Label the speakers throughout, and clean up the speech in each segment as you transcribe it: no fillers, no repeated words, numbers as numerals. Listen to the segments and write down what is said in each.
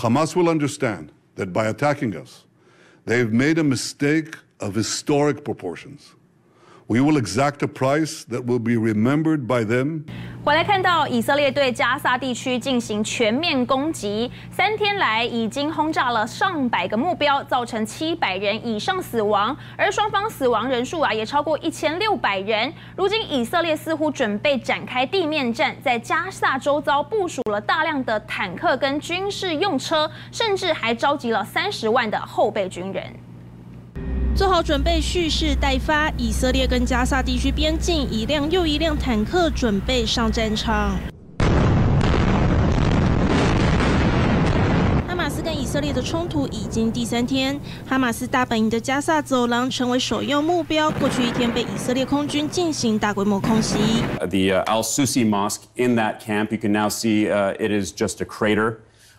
Speaker 1: Hamas will understand that by attacking us, they've made a mistake of historic proportions. We will exact a price that will be remembered by them.
Speaker 2: 回来看到以色列对加萨地区进行全面攻击，3天来已经轰炸了上百个目標，造成700人以上死亡，而雙方死亡人數也超過1600人。如今以色列似乎準備展開地面戰，在加薩周遭部署了大量的坦克跟軍事用車，甚至還召集了30萬的後備軍人。
Speaker 3: 做好準備，蓄勢待發。以色列跟加薩地區邊境一輛又一輛坦克準備上戰場。哈馬斯跟以色列的衝突已經第3天，哈馬斯大本營的加薩走廊成為首要目標。過去1天被以色列空軍進行大規模空襲。
Speaker 4: The Al-Susi Mosque in that camp, you can now see it is just a crater.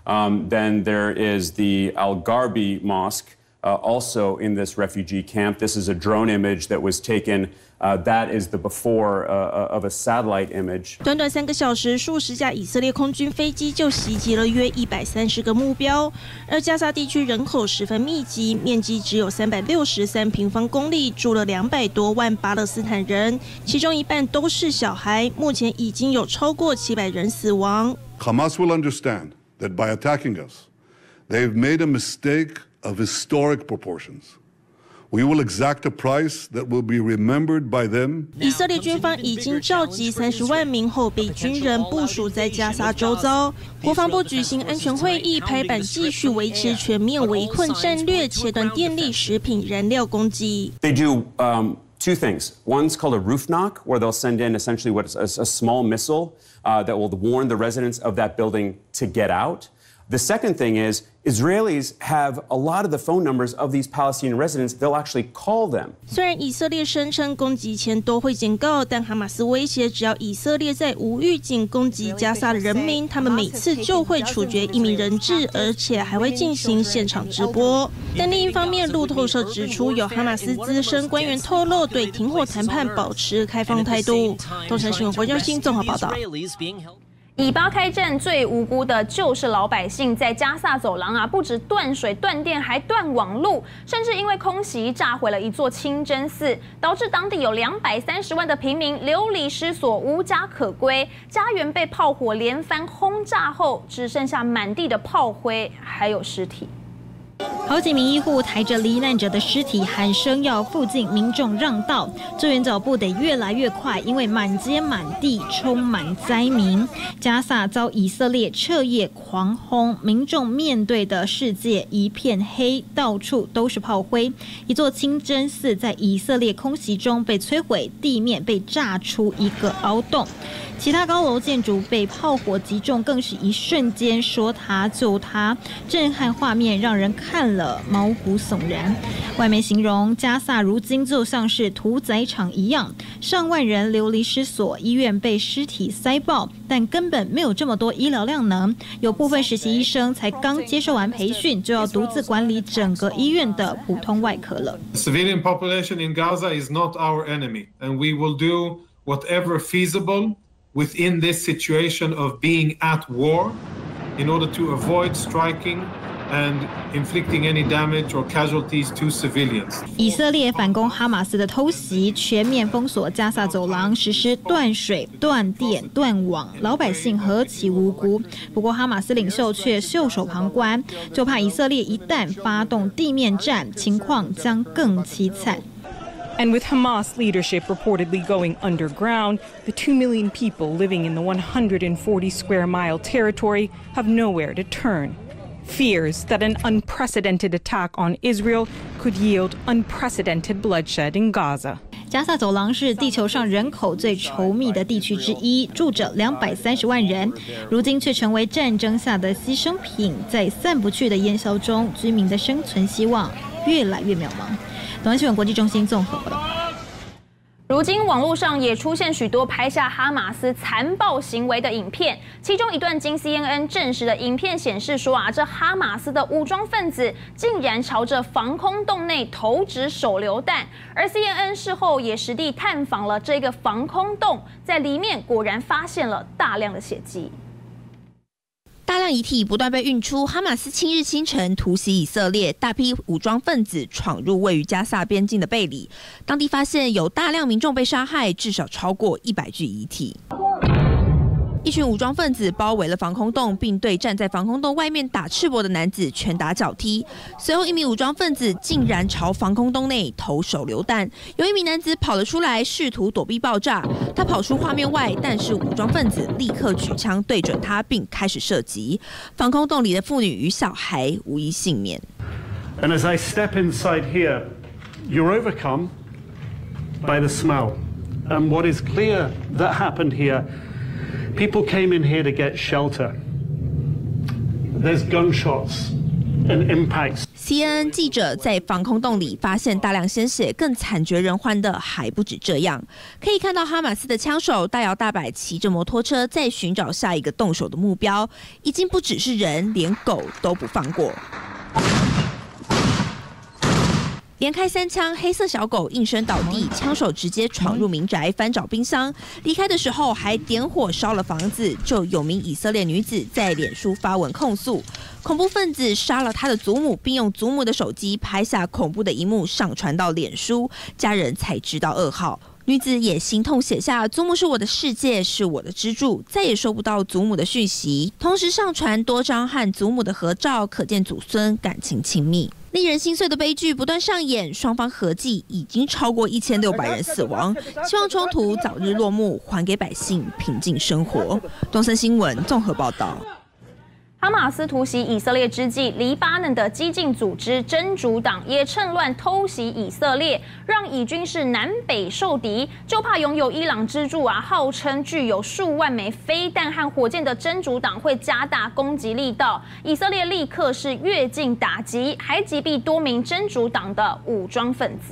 Speaker 4: Then there is the Al-Gharbi Mosque. Also in this refugee camp, this is a drone image that was taken. That is the before of a satellite image.
Speaker 3: 短短3個小時，數十架以色列空軍飛機就襲擊了約130個目標。而加薩地區人口十分密集，面積只有363平方公里，住了200多萬巴勒斯坦人，其中一半都是小孩。目前已經有超過700人死亡。
Speaker 1: Hamas will understand that by attacking us, they've made a mistake of historic proportions. We will exact a price that will be remembered by them.
Speaker 3: 以色列軍方已經召集30萬名後備軍人部署在加薩周遭。國防部舉行安全會議，拍板繼續維持全面圍困戰略，切斷電力、食品、燃料供給。
Speaker 4: They do two things. One's called a roof knock, where they'll send in essentially what is a small missile that will warn the residents of that building to get out. The second thing is Israelis have a lot of the phone numbers of these Palestinian residents. They'll actually call them.
Speaker 3: 雖然以色列聲稱攻擊前都會警告，但哈馬斯威脅，只要以色列在無預警攻擊加薩的人民，他們每次就會處決1名人質，而且還會進行現場直播。但另一方面，路透社指出，有哈馬斯資深官員透露，對停火談判保持開放態度。東森新聞黃宥鑫綜合報道。
Speaker 2: 以巴開戰最無辜的就是老百姓，在加薩走廊不止斷水斷電，還斷網路，甚至因為空襲炸毀了一座清真寺，導致當地有230萬的平民流離失所，無家可歸，家園被炮火連番轟炸後，只剩下滿地的炮灰，還有屍體。
Speaker 5: 好幾名醫護抬着罹難者的屍體，喊聲要附近民眾讓道，救援腳步得越來越快，因為滿街滿地充滿災民。加薩遭以色列徹夜狂轟，民眾面對的世界一片黑，到處都是炮灰。一座清真寺在以色列空襲中被摧毀，地面被炸出一個凹洞。其他高樓建築被炮火擊中，更是一瞬間說塌就塌，震撼畫面讓人看了毛骨悚然。外媒形容加薩如今就像是屠宰場一樣，上萬人流離失所，醫院被屍體塞爆，但根本沒有這麼多醫療量能。有部分實習醫生才剛接受完培訓，就要獨自管理整個醫院的普通外科了。
Speaker 6: Civilian population in Gaza is not our enemy, and we will do whatever feasible within this situation of being at war in order to avoid striking and inflicting any damage or casualties to civilians.
Speaker 5: 以色列反攻哈馬斯的偷襲，全面封鎖加薩走廊，實施斷水、斷電、斷網，老百姓何其無辜。不過哈馬斯領袖卻袖手旁觀，就怕以色列一旦發動地面戰，情況將更淒慘。
Speaker 7: And with Hamas leadership reportedly going underground, the 2 million people living in the 140 square mile territory have nowhere to turn. Fears that an unprecedented attack on Israel could yield unprecedented bloodshed in Gaza.
Speaker 5: 加薩走廊是地球上人口最稠密的地區之一，住着230萬人，如今卻成為戰爭下的犧牲品，在散不去的煙硝中，居民的生存希望越來越渺茫。東森新聞國際中心綜合報道。
Speaker 2: 如今網絡上也出現許多拍下哈馬斯殘暴行為的影片，其中一段經 CNN 證實的影片顯示說這哈馬斯的武裝分子竟然朝着防空洞內投擲手榴彈，而 CNN 事後也實地探訪了這個防空洞，在裡面果然發現了大量的血跡。
Speaker 8: 大量遺體不斷被運出，哈馬斯7日清晨突襲以色列，大批武裝分子闖入位於加薩邊境的貝里，當地發現有大量民眾被殺害，至少超過100具遺體。一群武裝分子包圍了防空洞，並對站在防空洞外面打赤膊的男子拳打腳踢。隨後，一名武裝分子竟然朝防空洞內投手榴彈，有一名男子跑了出來，試圖躲避爆炸。他跑出畫面外，但是武裝分子立刻舉槍對準他，並開始射擊。防空洞裡的婦女與小孩無一幸免。
Speaker 9: And as I step inside here, you're overcome by the smell. And what is clear that happened here, people came in here to get shelter. There's gunshots and impacts.
Speaker 8: CNN 記者在防空洞裡發現大量鮮血，更慘絕人寰的還不止這樣。可以看到哈馬斯的槍手大搖大擺騎着摩托車，在尋找下一個動手的目標，已經不只是人，連狗都不放過。連開3槍，黑色小狗應聲倒地，槍手直接闖入民宅，翻找冰箱。離開的時候還點火燒了房子。就有名以色列女子在臉書發文控訴，恐怖分子殺了她的祖母，並用祖母的手機拍下恐怖的一幕，上傳到臉書，家人才知道噩耗。女子也心痛寫下：“祖母是我的世界，是我的支柱，再也收不到祖母的訊息。”同時上傳多張和祖母的合照，可見祖孫感情親密。令人心碎的悲劇不斷上演，雙方合計已經超過1600人死亡。希望衝突早日落幕，還給百姓平靜生活。東森新聞綜合報道。
Speaker 2: 哈馬斯突襲以色列之際，黎巴嫩的激進組織真主黨也趁亂偷襲以色列，讓以軍是南北受敵。就怕擁有伊朗支柱號稱具有數萬枚飛彈和火箭的真主黨會加大攻擊力道。以色列立刻是躍進打擊，還擊斃多名真主黨的武裝分子。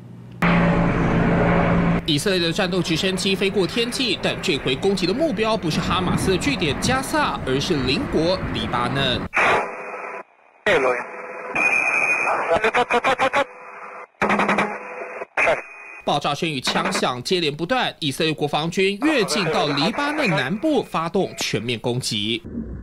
Speaker 10: 以色列的戰鬥直升機飛過天際，但這回攻擊的目標不是哈馬斯的據點加薩，而是鄰國黎巴嫩。爆炸聲與槍響接連不斷，以色列國防軍躍進到黎巴嫩南部，發動全面攻擊。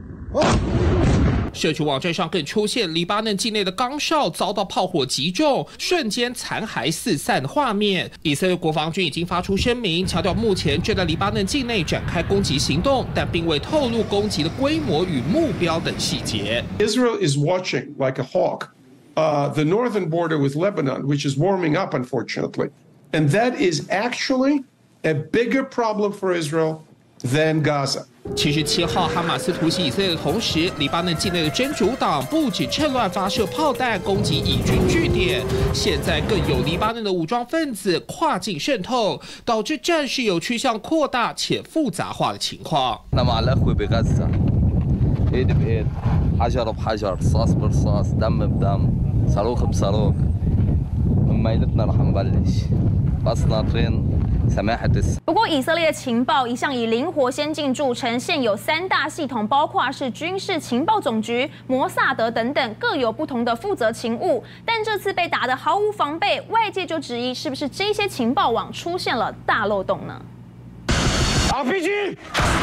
Speaker 10: 社區網站上更出現黎巴嫩境內的崗哨遭到炮火擊中，瞬間殘骸四散的畫面。以色列國防軍已經發出聲明，強調目前正在黎巴嫩境內展開攻擊行動，但並未透露攻擊的規模與目標等細節。
Speaker 11: Israel is watching like a hawk the northern border with Lebanon, which is warming up, unfortunately, and that is actually a bigger problem for Israel than Gaza.
Speaker 10: 77號哈馬斯突襲以色列的同時，黎巴嫩境內的真主黨不僅趁亂發射炮彈攻擊以軍據點，現在更有黎巴嫩的武裝分子跨境滲透，導致戰事有趨向擴大且複雜化的情況。
Speaker 2: 不過，以色列情報一向以靈活先進著稱，現有3大系統，包括是軍事情報總局、摩薩德等等，各有不同的負責勤務。但這次被打得毫無防備，外界就質疑是不是這些情報網出現了大漏洞呢？RPG。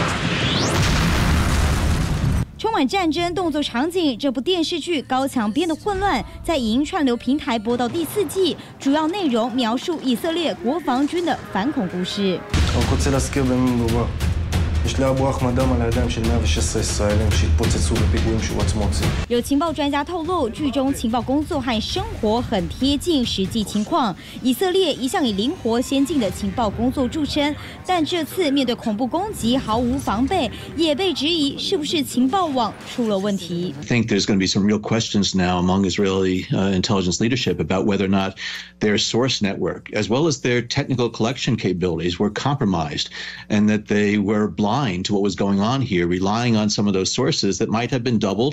Speaker 12: 充滿戰爭動作場景，這部電視劇《高牆邊的混亂》在影音串流平台播到第4季，主要內容描述以色列國防軍的反恐故事。有情報專家透露，劇中情報工作和生活很貼近實際情況。以色列一向以靈活先進的情報工作著稱，但這次面對恐怖攻擊毫無防備，也被質疑是不是情報網出了問題。
Speaker 13: I think there's going to be some real questions now among Israeli intelligence leadership about whether or not their source network, as well as their technical collection capabilities, were compromised, and that they were blind to what was going on here, relying on some of those sources that might have been doubled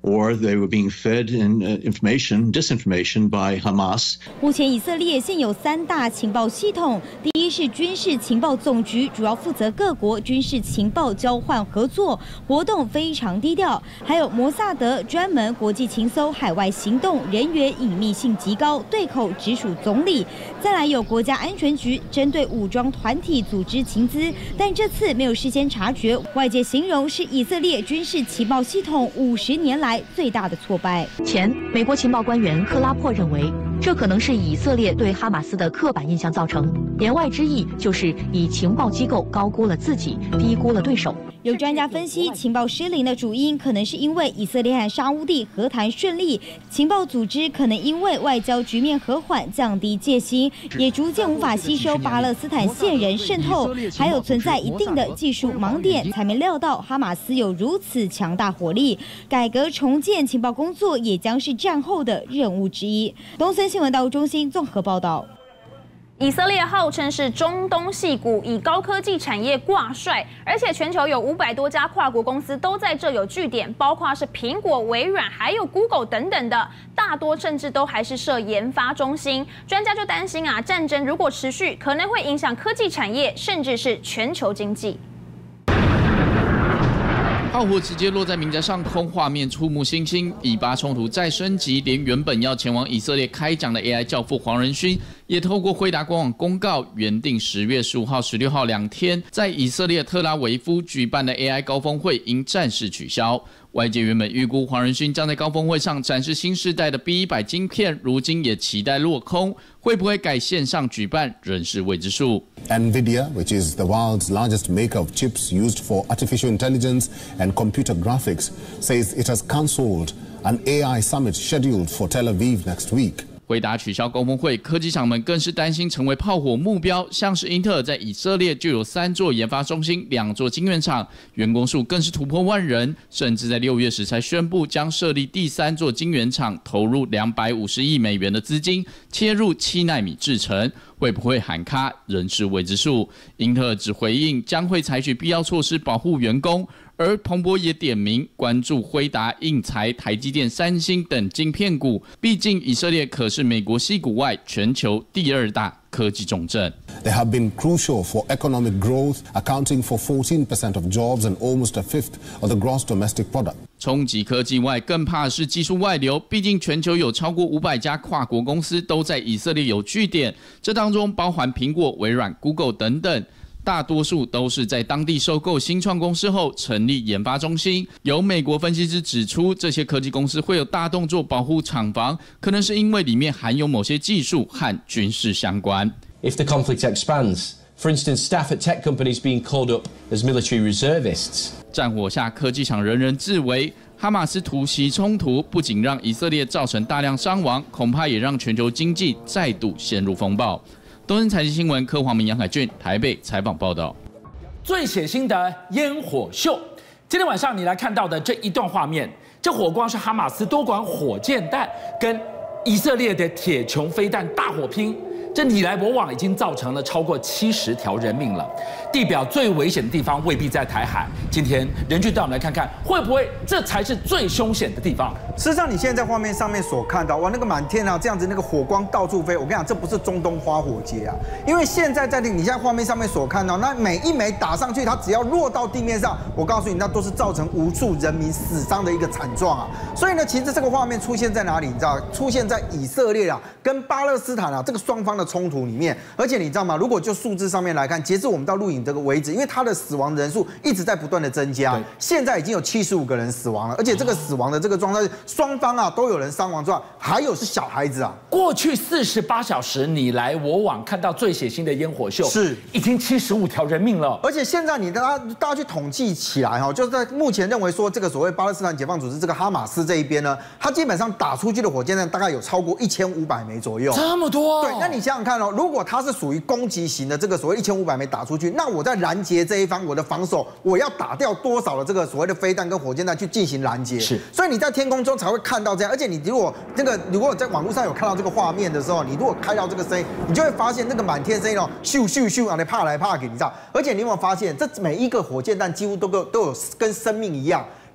Speaker 13: or they were being fed disinformation by Hamas.
Speaker 12: 目前以色列现有3大情報系統，第一是軍事情報總局，主要負責各國軍事情報交換合作，活動非常低調；還有摩薩德，專門國際情搜海外行動，人員隱秘性極高，對口直屬總理。再來有國家安全局，針對武裝團體組織情資，但這次沒有事先察覺，外界形容是以色列軍事情報系統50年來最大的挫敗。
Speaker 14: 前美國情報官員克拉珀認為，這可能是以色列對哈馬斯的刻板印象造成，言外之意就是以情報機構高估了自己，低估了對手。
Speaker 12: 有專家分析，情報失靈的主因可能是因為以色列和沙烏地和談順利，情報組織可能因為外交局面和緩，降低戒心，也逐漸無法吸收巴勒斯坦線人滲透，還有存在一定的技術盲點，才沒料到哈馬斯有如此強大火力。改革重建情報工作也將是戰後的任務之一。東森新聞大陸中心綜合報道。
Speaker 2: 以色列號稱是中東矽谷，以高科技產業掛帥，而且全球有500多家跨國公司都在這有據點，包括是蘋果、微軟，還有 Google 等等的，大多甚至都還是設研發中心。專家就擔心啊，戰爭如果持續，可能會影響科技產業，甚至是全球經濟。
Speaker 15: 炮火直接落在民宅上空，畫面觸目驚心。以巴衝突再升級，連原本要前往以色列開講的 AI 教父黃仁勳，也透過輝達官網公告，原定10月15號、16號2天在以色列特拉維夫舉辦的 AI 高峰會，應暫時取消。外界原本預估黃仁勳將在高峰會上展示新世代的 B100晶片，如今也期待落空，會不會改線上舉辦，仍是未知數。
Speaker 16: NVIDIA, which is the world's largest maker of chips used for artificial intelligence and computer graphics, says it has cancelled an AI summit scheduled for Tel Aviv next week.
Speaker 15: 輝達取消高峰會，科技廠們更是擔心成為炮火目標。像是英特爾在以色列就有3座研發中心、2座晶圓廠，員工數更是突破萬人，甚至在6月時才宣布將設立第3座晶圓廠，投入250億美元的資金，切入7奈米製程。會不會喊卡，仍是未知數。英特爾只回應將會採取必要措施保護員工。而彭博也點名關注輝達、應材、台積電、三星等晶片股，畢竟以色列可是美國矽谷外全球第2大科技重鎮。
Speaker 16: They have been crucial for economic growth, accounting for 14% of jobs and almost a fifth of the gross domestic product.
Speaker 15: 衝擊科技外，更怕是技術外流。畢竟全球有超過500家跨國公司都在以色列有據點，這當中包含蘋果、微軟、Google 等等。大多數都是在當地收購新創公司後成立研發中心。有美國分析師指出，這些科技公司會有大動作保護廠房，可能是因為裡面含有某些技術和軍事相關。
Speaker 17: If the conflict expands, for instance, staff at tech companies being called up as military reservists.
Speaker 15: 戰火下，科技廠人人自危。哈馬斯突襲衝突不僅讓以色列造成大量傷亡，恐怕也讓全球經濟再度陷入風暴。東森財經新聞柯黃明、楊凱俊台北採訪報道。
Speaker 18: 最血腥的煙火秀，今天晚上你來看到的這一段畫面，這火光是哈馬斯多管火箭彈跟以色列的鐵穹飛彈大火拼。這你來我往已經造成了超過70條人命了。地表最危險的地方未必在台海。今天人俊帶我們來看看，會不會這才是最兇險的地方？
Speaker 19: 事實上，你現在在畫面上面所看到，哇，那個滿天啊，這樣子那個火光到處飛。我跟你講，這不是中東花火節啊，因為現在你現在畫面上面所看到，那每一枚打上去，它只要落到地面上，我告訴你，那都是造成無數人民死傷的一個慘狀啊。所以呢，其實這個畫面出現在哪裡？你知道，出現在以色列啊跟巴勒斯坦啊這個雙方的衝突裡面。而且你知道嗎？如果就數字上面來看，截至我們到錄影這個為止，因為它的死亡人數一直在不斷的增加，現在已經有75個人死亡了，而且這個死亡的這個狀態，雙方啊都有人傷亡之外，還有是小孩子啊。過去
Speaker 18: 48小時你來我往，看到最血腥的煙火秀，
Speaker 19: 是
Speaker 18: 已經75條人命了。
Speaker 19: 而且現在大家去統計起來哈，就是在目前認為說這個所謂巴勒斯坦解放組織這個哈馬斯這一邊呢，它基本上打出去的火箭彈大概有超過1500枚左右。
Speaker 18: 這麼多？
Speaker 19: 對，那你想想看哦，如果它是屬於攻擊型的這個所謂1500枚打出去，那我在攔截這一方，我的防守我要打掉多少的這個所謂的飛彈跟火箭彈去進行攔截？是，所以你在天空中才會看到這樣。而且你如果在網絡上有看到這個畫面的時候，你如果開到這個聲音，你就會發現那個滿天聲音哦，咻咻咻啊，你怕來怕去，你知道？而且你有沒有發現，這每一個火箭彈幾乎都有跟生命一樣。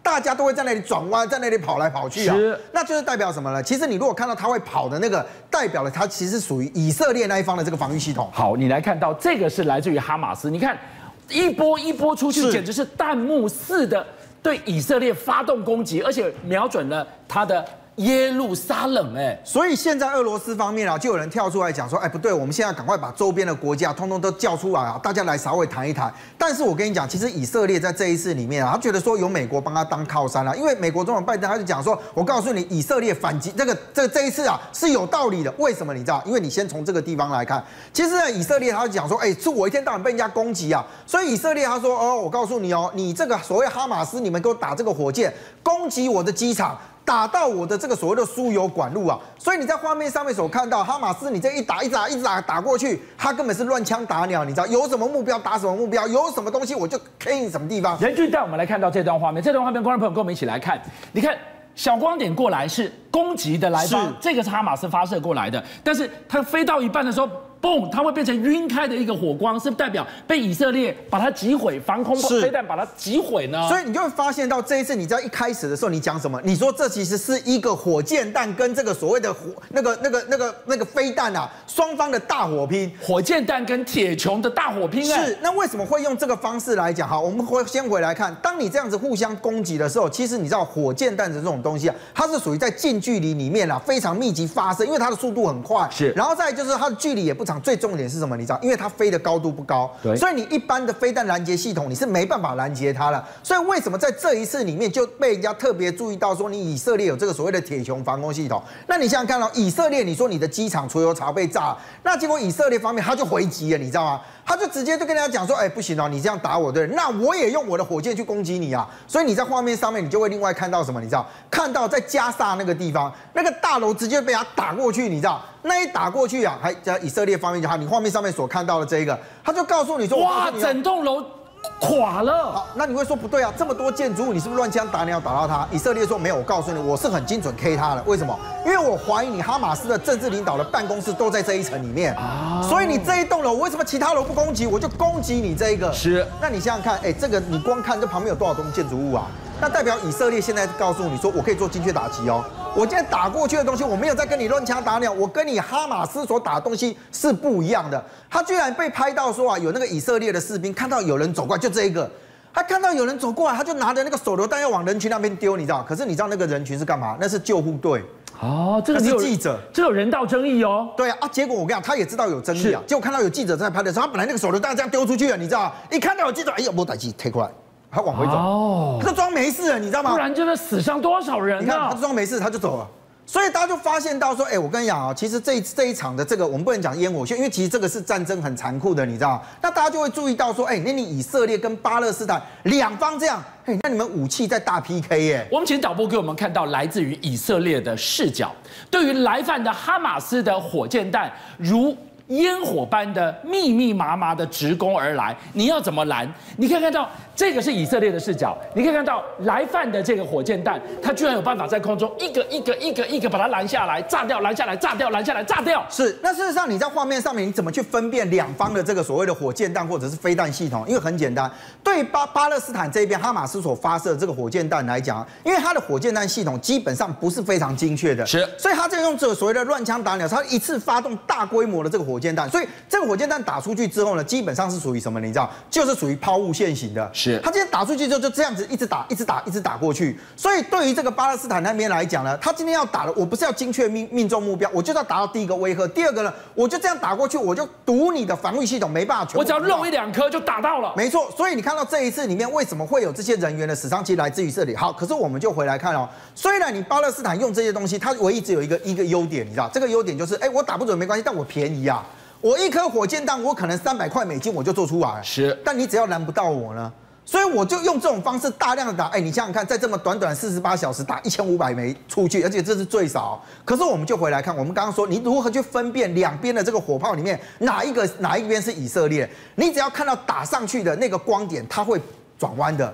Speaker 19: 大家都會在那裡轉彎，在那裡跑來跑去啊。那就是代表什麼呢？其實你如果看到他會跑的那個，代表了他其實屬於以色列那一方的這個防禦系統。
Speaker 18: 好，你來看到這個是來自於哈馬斯，你看一波一波出去，簡直是彈幕似的對以色列發動攻擊，而且瞄準了他的耶路撒冷。
Speaker 19: 所以現在俄羅斯方面啊，就有人跳出來講說，不對，我們現在趕快把周邊的國家通通都叫出來啊，大家來稍微談一談。但是我跟你講，其實以色列在這一次裡面啊，他覺得說有美國幫他當靠山啊，因為美國總統拜登他就講說，我告訴你，以色列反擊這一次啊是有道理的。為什麼你知道？因為你先從這個地方來看，其實呢，以色列他就講說，是我一天到晚被人家攻擊啊，所以以色列他說，我告訴你哦，你這個所謂哈馬斯，你們給我打這個火箭攻擊我的機場。打到我的這個所謂的輸油管路啊，所以你在畫面上面所看到哈馬斯，你這一打過去，他根本是亂槍打鳥，你知道有什麼目標打什麼目標，有什麼東西我就 K 你什麼地方。
Speaker 18: 任俊帶我們來看到這段畫面，觀眾朋友跟我們一起來看，你看小光點過來是攻擊的來方，這個是哈馬斯發射過來的，但是它飛到一半的時候。嘣，它會變成暈開的一個火光，是代表被以色列把它擊毀，防空飛彈把它擊毀呢？
Speaker 19: 所以你就會發現到這一次，你在一開始的時候，你講什麼？你說這其實是一個火箭彈跟這個所謂的那個飛彈啊，雙方的大火拼。
Speaker 18: 火箭彈跟鐵穹的大火拼。
Speaker 19: 是，那為什麼會用這個方式來講？好，我們先回來看，當你這樣子互相攻擊的時候，其實你知道火箭彈的這種東西啊，它是屬於在近距離裡面啊非常密集發射，因為它的速度很快。是，然後再來就是它的距離也不長。最重點是什麼？你知道，因為它飛的高度不高，所以你一般的飛彈攔截系統你是沒辦法攔截它的。所以為什麼在這一次裡面就被人家特別注意到說，你以色列有這個所謂的鐵穹防空系統？那你想想看到以色列，你說你的機場儲油槽被炸了，那結果以色列方面他就回擊了，你知道嗎？他就直接就跟人家講說，不行哦，你這樣打我，對，那我也用我的火箭去攻擊你啊。所以你在畫面上面你就會另外看到什麼？你知道，看到在加薩那個地方，那個大樓直接被他打過去，你知道，那一打過去啊，還在以色列方面就好，你畫面上面所看到的這一個，他就告訴你說，
Speaker 18: 哇，整棟樓垮了。
Speaker 19: 好，那你會說不對啊，這麼多建築物，你是不是亂槍打鳥打到他？以色列說沒有，我告訴你，我是很精準 K 他的。為什麼？因為我懷疑你哈馬斯的政治領導的辦公室都在這一層裡面啊，所以你這一棟樓為什麼其他樓不攻擊，我就攻擊你這一個。是，那你想想看，這個你光看這旁邊有多少棟建築物啊？那代表以色列現在告訴你說，我可以做精確打擊哦。我今天打過去的東西，我沒有在跟你亂槍打鳥，我跟你哈馬斯所打的東西是不一樣的。他居然被拍到說啊，有那個以色列的士兵看到有人走過來，就這一個，他看到有人走過來，他就拿着那個手榴彈要往人群那邊丟，你知道？可是你知道那個人群是幹嘛？那是救護隊。
Speaker 18: 哦，這個是記者，這有人道爭議哦。
Speaker 19: 對啊，結果我跟你講，他也知道有爭議啊。結果看到有記者在拍的時候，他本來那個手榴彈這樣丟出去了，你知道？一看到有記者，沒帶機推過來。他往回走，哦，他裝沒事了，你知道嗎？
Speaker 18: 不然真的死傷多少人啊？
Speaker 19: 你看他裝沒事，他就走了。所以大家就發現到說，我跟你講啊，其實這一場的這個我們不能講煙火秀，因為其實這個是戰爭很殘酷的，你知道嗎？那大家就會注意到說，那你以色列跟巴勒斯坦兩方這樣，那你們武器在大 PK
Speaker 18: 我們請導播給我們看到來自於以色列的視角，對於來犯的哈馬斯的火箭彈如煙火般的密密麻麻的直攻而來，你要怎麼攔？你可以看到這個是以色列的視角，你可以看到來犯的這個火箭彈，它居然有辦法在空中一個把它攔下來，炸掉，攔下來，炸掉，攔下來，炸掉。
Speaker 19: 是，那事實上你在畫面上面你怎麼去分辨兩方的這個所謂的火箭彈或者是飛彈系統？因為很簡單，對巴勒斯坦這邊哈馬斯所發射的這個火箭彈來講，因為它的火箭彈系統基本上不是非常精確的，是，所以它就用這個所謂的亂槍打鳥，它一次發動大規模的這個火箭彈，所以這個火箭彈打出去之後呢，基本上是屬於什麼？你知道，就是屬於拋物線型的。是，它今天打出去之後就這樣子一直打過去。所以對於這個巴勒斯坦那邊來講呢，他今天要打的，我不是要精確命中目標，我就要達到第一個威嚇。第二個呢，我就這樣打過去，我就堵你的防禦系統沒辦法全部。
Speaker 18: 我只要漏一兩顆就打到了。
Speaker 19: 沒錯，所以你看到這一次裡面為什麼會有這些人員的死傷，其實來自於這裡。好，可是我們就回來看哦，雖然你巴勒斯坦用這些東西，它唯一只有一個優點，你知道，這個優點就是，我打不準沒關係，但我便宜啊。我一顆火箭彈，我可能300塊美金我就做出來了，是。但你只要攔不到我呢，所以我就用這種方式大量的打。你想想看，在這麼短短48小時打1500枚出去，而且這是最少。可是我們就回來看，我們剛剛說你如何去分辨兩邊的這個火炮裡面哪一邊是以色列？你只要看到打上去的那個光點，它會轉彎的。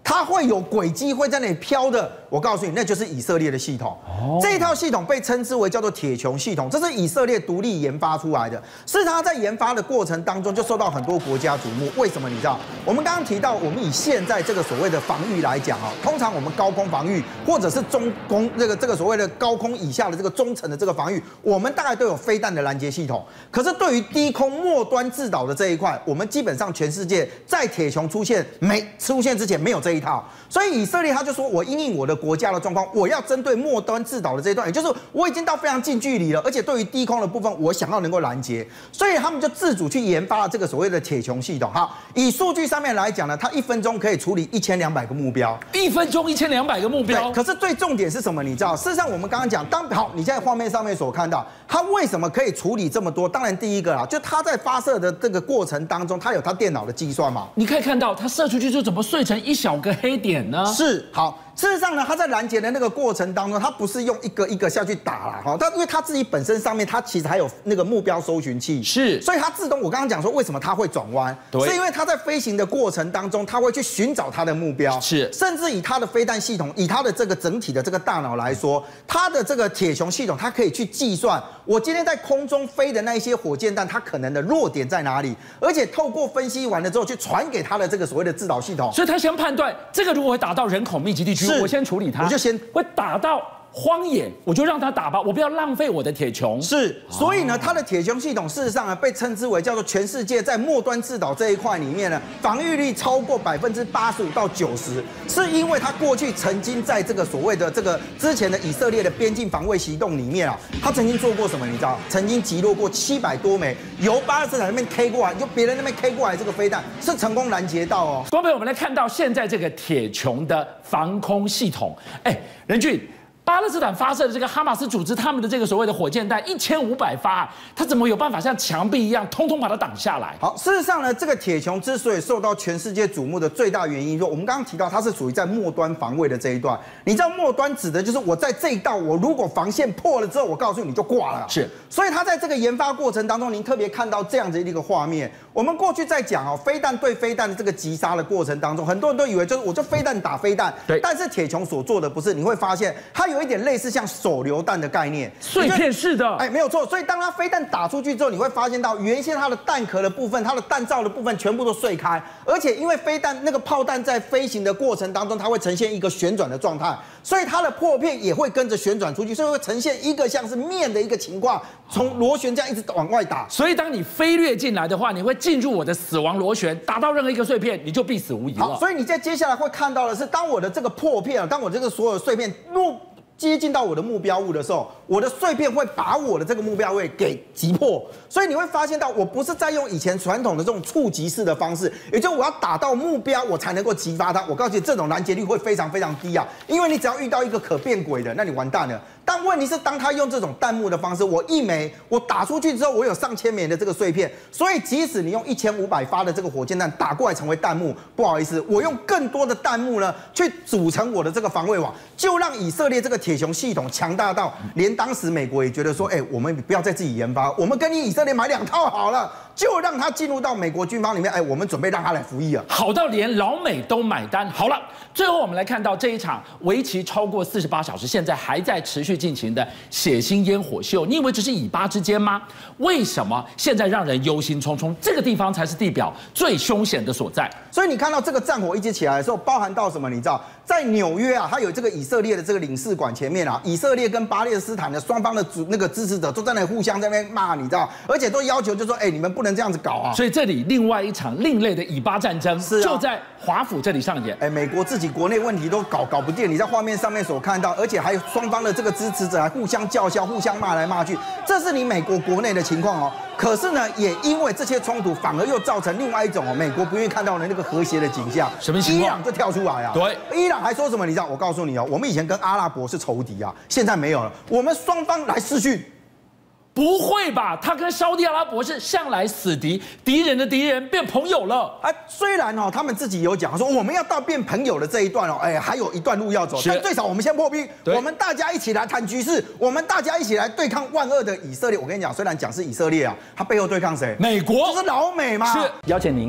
Speaker 19: 它會有軌跡會在那裡飄的，我告訴你，那就是以色列的系統。這一套系統被稱之為叫做鐵穹系統，這是以色列獨立研發出來的。是它在研發的過程當中就受到很多國家矚目。為什麼你知道？我們剛剛提到，我們以現在這個所謂的防禦來講啊，通常我們高空防禦或者是中空這個所謂的高空以下的這個中層的這個防禦，我們大概都有飛彈的攔截系統。可是對於低空末端制導的這一塊，我們基本上全世界在鐵穹出現之前沒有這一套，所以以色列他就說，我因應我的國家的狀況，我要針對末端制導的這一段，也就是我已經到非常近距離了，而且對於低空的部分，我想要能夠攔截，所以他們就自主去研發了這個所謂的鐵穹系統。好，以數據上面來講呢，它1分鐘可以處理1200個目標
Speaker 18: ，1分鐘1200個目標。
Speaker 19: 可是最重點是什麼？你知道，事實上我們剛剛講，好，你現在畫面上面所看到，它為什麼可以處理這麼多？當然第一個啦，就它在發射的這個過程當中，它有它電腦的計算嘛。
Speaker 18: 你可以看到，它射出去就怎麼碎成一小個黑點呢？
Speaker 19: 是，好。事實上呢，它在攔截的那個過程當中，它不是用一個一個下去打啦，哈，它因為它自己本身上面它其實還有那個目標搜尋器，
Speaker 18: 是，
Speaker 19: 所以它自动，我剛剛講說為什麼它會轉彎，是因為它在飛行的過程當中，它會去尋找它的目標，
Speaker 18: 是，
Speaker 19: 甚至以它的飛彈系統，以它的這個整體的這個大腦來說，它的這個鐵穹系統，它可以去計算我今天在空中飛的那一些火箭彈，它可能的弱點在哪裡，而且透過分析完了之後，去傳給它的這個所謂的制導系統，
Speaker 18: 所以它先判斷這個如果會打到人口密集地區，我先處理它。
Speaker 19: 我就先
Speaker 18: 會打到荒野，我就讓它打吧，我不要浪費我的鐵穹。
Speaker 19: 是，所以呢，它的鐵穹系統事實上呢，被稱之為叫做全世界在末端制導這一塊裡面呢，防禦力超過85%到90%，是因為它過去曾經在這個所謂的這個之前的以色列的邊境防衛行動裡面啊，它曾經做過什麼？你知道？曾經擊落過700多枚由巴勒斯坦那邊 K 過來，就別人那邊 K 過來這個飛彈，是成功攔截到哦。
Speaker 18: 各位朋友，我們來看到現在這個鐵穹的防空系統，任俊。巴勒斯坦發射的這個哈馬斯組織，他們的這個所謂的火箭彈1500發，它怎麼有辦法像牆壁一樣，通通把它擋下來？
Speaker 19: 好，事實上呢，這個鐵穹之所以受到全世界矚目的最大原因，說我們剛剛提到它是屬於在末端防衛的這一段。你知道末端指的就是我在這一道，我如果防線破了之後，我告訴你就掛了。
Speaker 18: 是，
Speaker 19: 所以它在這個研發過程當中，您特別看到這樣子一個畫面。我們過去在講哦，飛彈對飛彈的這個擊殺的過程當中，很多人都以為就是我就飛彈打飛彈，
Speaker 18: 對。
Speaker 19: 但是鐵穹所做的不是，你會發現它有一點類似像手榴彈的概念，
Speaker 18: 碎片式的，
Speaker 19: 沒有錯。所以當它飛彈打出去之後，你會發現到原先它的彈殼的部分、它的彈罩的部分全部都碎開，而且因為飛彈那個炮彈在飛行的過程當中，它會呈現一個旋轉的狀態，所以它的破片也會跟着旋轉出去，所以會呈現一個像是面的一個情況，從螺旋這樣一直往外打。
Speaker 18: 所以當你飛掠進來的話，你會進入我的死亡螺旋，打到任何一個碎片，你就必死無疑了。
Speaker 19: 好，所以你在接下來會看到的是，當我的這個破片，當我這個所有碎片接近到我的目標物的時候，我的碎片會把我的這個目標位給擊破，所以你會發現到我不是在用以前傳統的這種觸擊式的方式，也就是我要打到目標我才能夠擊發它。我告訴你，這種攔截率會非常非常低啊，因為你只要遇到一個可變軌的，那你完蛋了。但問題是，當他用這種彈幕的方式，我一枚我打出去之後，我有上千枚的這個碎片，所以即使你用1500發的這個火箭彈打過來成為彈幕，不好意思，我用更多的彈幕呢去組成我的這個防衛網，就讓以色列這個鐵穹系統強大到連當時美國也覺得說，我們不要再自己研發，我們跟你以色列買2套好了，就讓它進入到美國軍方裡面，我們準備讓它來服役了，
Speaker 18: 好到連老美都買單。好了，最後我們來看到這一場為期超過48小時，現在還在持續進行的血腥煙火秀，你以為只是以巴之間嗎？為什麼現在讓人憂心忡忡？這個地方才是地表最凶險的所在。
Speaker 19: 所以你看到這個戰火一直起來的時候，包含到什麼？你知道，在紐約啊，它有這個以色列的這個領事館前面啊，以色列跟巴勒斯坦的雙方的那個支持者都在那裡互相在那邊罵，你知道，而且都要求就說，你們不能這樣子搞啊。
Speaker 18: 所以這裡另外一場另類的以巴戰爭就在華府這裡上演。
Speaker 19: 美國自己國內問題都搞不定，你在畫面上面所看到，而且還有雙方的這個支持者還互相叫囂、互相罵來罵去，這是你美國國內的情況哦。可是呢，也因為這些衝突，反而又造成另外一種美國不願意看到的那個和諧的景象。
Speaker 18: 什麼情況？
Speaker 19: 伊朗就跳出來啊！
Speaker 18: 對，
Speaker 19: 伊朗還說什麼？你知道？我告訴你哦，我們以前跟阿拉伯是仇敵啊，現在沒有了，我們雙方來視訊。
Speaker 18: 不會吧？他跟沙烏地阿拉伯是向來死敵，敵人的敵人變朋友了。
Speaker 19: 雖然哦，他們自己有講說我們要到變朋友的這一段哦，還有一段路要走，但最少我們先破冰，我們大家一起來談局勢，我們大家一起來對抗萬惡的以色列。我跟你講，雖然講是以色列啊，他背後對抗誰？
Speaker 18: 美國，
Speaker 19: 就是老美嘛。
Speaker 18: 是，邀請您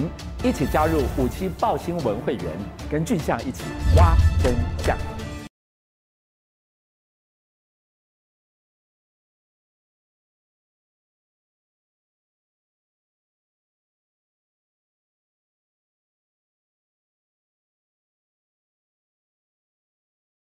Speaker 20: 一起加入57爆新聞會員，跟俊相一起挖真相。